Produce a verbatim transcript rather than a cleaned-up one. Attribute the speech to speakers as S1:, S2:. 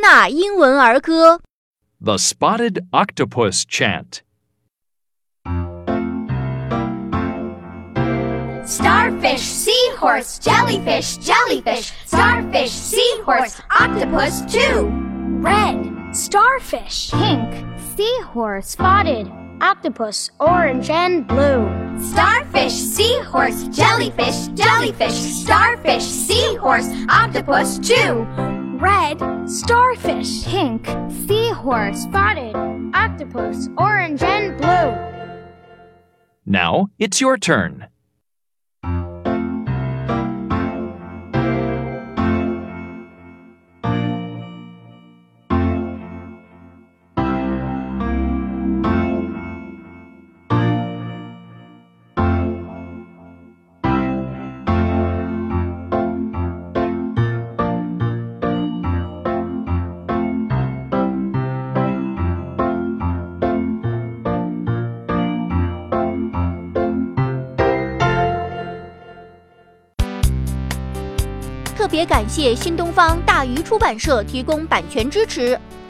S1: 纳英文儿歌
S2: The Spotted Octopus Chant.
S3: Starfish, seahorse, jellyfish, jellyfish, starfish, seahorse, octopus too.
S4: Red, starfish.
S5: Pink, seahorse, spotted, octopus, orange and blue.
S3: Starfish, seahorse, jellyfish, jellyfish, starfish, seahorse, octopus too.
S4: Red, starfish.
S5: Pink, seahorse, spotted, octopus, orange and blue.
S2: Now it's your turn.
S1: 特别感谢新东方大鱼出版社提供版权支持。